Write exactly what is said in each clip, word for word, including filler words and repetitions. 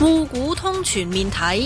滬股通全面睇。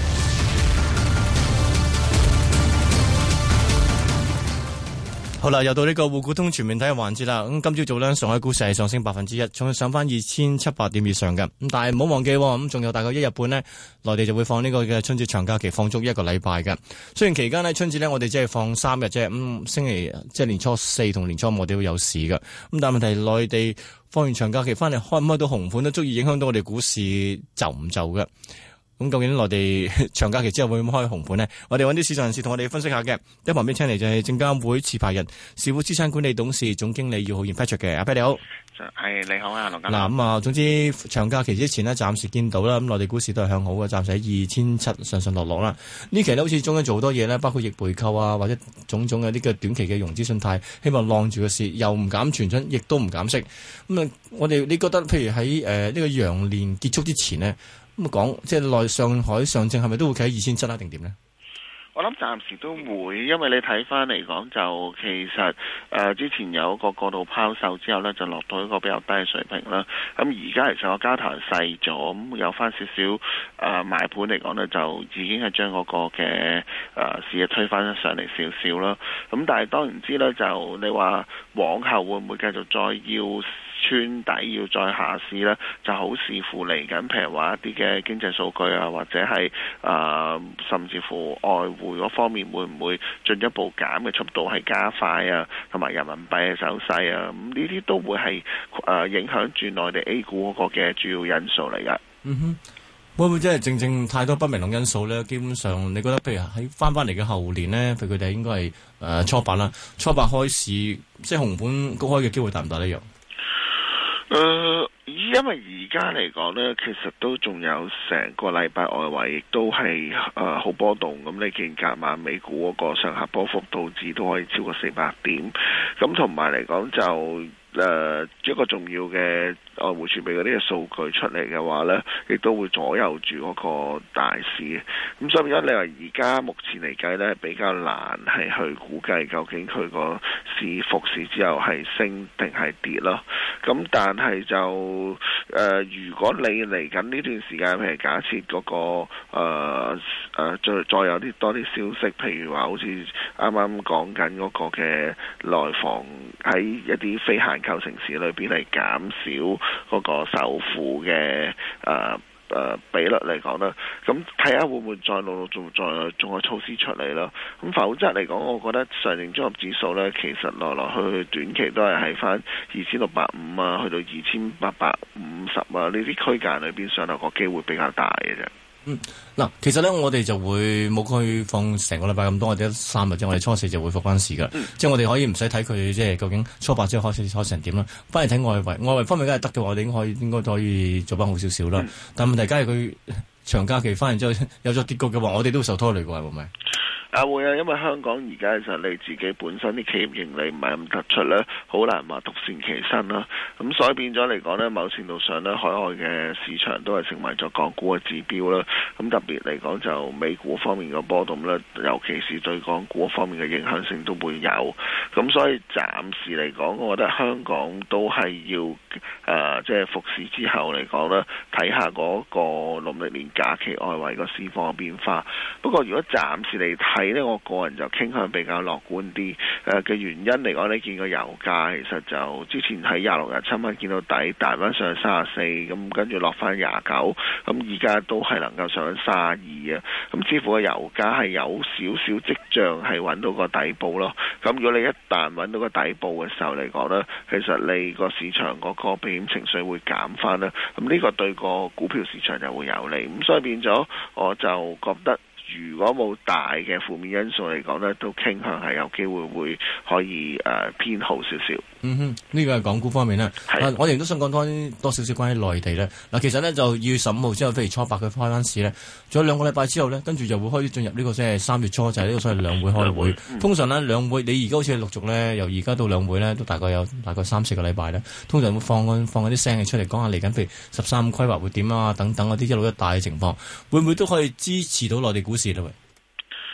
好啦，又到呢個滬股通全面睇嘅環節啦。咁今朝早呢，上海股市係上升百分之一，仲上翻二千七百點以上嘅。咁但係唔好忘記，咁仲有大概一日半呢，內地就會放呢個嘅春節長假期，放足一個禮拜嘅。雖然期間呢，春節呢，我哋只係放三日啫，咁、嗯、星期即係年初四同年初五我哋都有市嘅。咁但係問題係內地放完長假期翻嚟開唔開到紅盤都足以影響到我哋股市就唔就嘅。咁究竟內地長假期之後會唔會開紅盤呢？我哋揾啲市場人士同我哋分析下嘅。喺旁邊請嚟就係證監會持牌人、時富資產管理董事總經理姚浩然 Patrick 嘅。阿 Pat 你好， 係你好啊，羅家。 嗱咁啊，總之長假期之前呢，暫時見到啦，咁內地股市都係向好嘅，暫時喺二千七上上落落啦。呢期呢，好似中央做好多嘢呢，包括逆回購啊，或者種種嘅呢個短期嘅融資信貸，希望晾住個市，又唔減存準，亦都唔減息。咁啊，我哋你覺得譬如喺誒呢個羊年結束之前呢？咁講，即係內上海上證係咪都會企喺二千七啊？定點呢？ 我諗暫時都會，因為你睇翻嚟講就其實誒、呃、之前有一個過度拋售之後呢，就落到一個比較低嘅水平啦。咁而家其實個交投細咗，咁有翻少少誒買盤嚟講呢，就已經係將嗰個嘅誒、呃、市嘅推翻上嚟少少啦。咁但係當然知呢，就你話往後會唔會繼續再要穿底要再下試呢，就好視乎嚟緊，譬如話一啲嘅經濟數據啊，或者係誒、呃、甚至乎外匯嗰方面會唔會進一步減嘅速度係加快啊，同埋人民幣嘅走勢啊，咁呢啲都會係誒、呃、影響住內地 A 股嗰個嘅主要因素嚟㗎。 嗯哼，會唔會真係正正太多不明朗因素呢？基本上，你覺得譬如喺翻翻嚟嘅後年呢，譬如佢哋應該係誒、呃、初八啦，初八開市，即係紅盤高開嘅機會大唔大呢？樣？ 誒、呃，因為而家嚟講呢，其實都仲有成個禮拜外圍亦都係誒好波動。咁你見隔晚美股嗰個上下波幅導致都可以超過四百點。咁同埋嚟講就誒、呃、一個重要嘅外匯儲備嗰啲嘅數據出嚟嘅話呢，亦都會左右住嗰個大市。咁所以變咗你話而家目前嚟計呢，比較難係去估計究竟佢個市復市之後係升定係跌咯。咁但係就誒、呃，如果你嚟緊呢段時間，譬如假設嗰、那個誒、呃呃、再再有啲多啲消息，譬如話好似啱啱講緊嗰個嘅內房喺一啲非限購城市裏邊嚟減少嗰個首付嘅誒。呃誒、呃、比率嚟講啦，咁睇下會唔會再陸陸續續再仲有措施出嚟咯？咁否則嚟講，我覺得上證綜合指數呢，其實來來去去短期都係喺翻二千六百五啊，去到二千八百五十啊呢啲區間裏邊上落個機會比較大嘅啫。 嗯，嗱，其實咧，我哋就會冇去放成個禮拜咁多，或者三日啫。我哋初四就會復翻市噶，嗯、即係我哋可以唔使睇佢，即係究竟初八之後開始開成點啦。翻嚟睇外圍，外圍方面梗係得嘅話，我哋應該可以應該都可以做翻好少少啦。嗯、但係問題，假如佢長假期翻完之後有咗跌局嘅話，我哋都會受拖累嘅，係咪？ 啊會啊，因為香港而家其實你自己本身啲企業盈利唔係咁突出咧，好難話獨善其身啦。咁所以變咗嚟講咧，某程度上咧，海外嘅市場都係成為咗港股嘅指標啦。咁特別嚟講就美股方面嘅波動咧，尤其是對港股方面嘅影響性都會有。咁所以暫時嚟講，我覺得香港都係要誒即係復市之後嚟講咧，睇下嗰個農曆年假期外圍個市況嘅變化。不過如果暫時嚟睇，睇呢，我個人就傾向比較樂觀啲。誒、呃、嘅原因嚟講，你見個油價其實就之前喺廿六、廿七蚊見到底，彈翻上去三十四，咁跟住落翻廿九，咁而家都係能夠上翻三十二啊。咁似乎個油價係有少少跡象係揾到個底部咯。咁如果你一旦揾到個底部嘅時候嚟講呢，其實你個市場嗰個避險情緒會減翻啦。咁呢個對個股票市場就會有利。咁所以變咗，我就覺得，如果冇大嘅負面因素嚟講呢，都傾向係有機會會可以誒、呃、偏好少少。 嗯哼，呢個係港股方面啦。係、啊，我哋都想講多多少少關於內地咧。嗱，其實呢，就二月十五號之後，譬如初八佢開翻市咧，仲有兩個禮拜之後呢，跟住就會開始進入呢個即係三月初就係、是、呢個所謂兩會開會。嗯、通常呢，兩會你而家好似陸續呢，由而家到兩會呢，都大概有大概三四個禮拜呢，通常會放放嗰啲聲氣出嚟講下嚟緊，譬如十三五規劃會點啊，等等嗰啲一路一帶嘅情況，會唔會都可以支持到內地股市咧？喂？ 誒、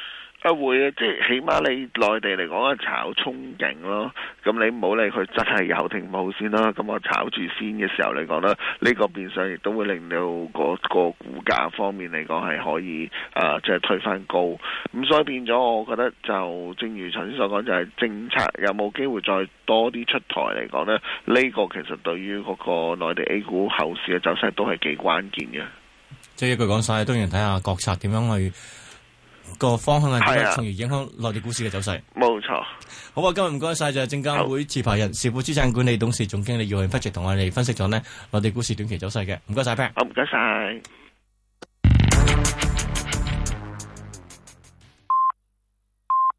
啊會啊，即係起碼你內地嚟講係炒憧憬咯，咁你唔好理佢真係有定冇先啦。咁我炒住先嘅時候嚟講咧，呢、呢個變相亦都會令到個個股價方面嚟講係可以啊，即、呃、係、就是、推翻高。咁所以變咗，我覺得就正如頭先所講，就係、是、政策有冇機會再多啲出台嚟講咧？呢、呢個其實對於嗰個內地 A 股後市嘅走勢都係幾關鍵嘅。 即係一句講晒，當然睇下國策點樣去。個方向係點樣，從而影響內地股市嘅走勢。 冇錯。 好啊，今日唔該晒，就係證監會持牌人時富資產管理董事總經理姚浩然 Patrick 同我哋分析咗呢內地股市短期走勢嘅。唔該晒 Pat。 好，唔該晒。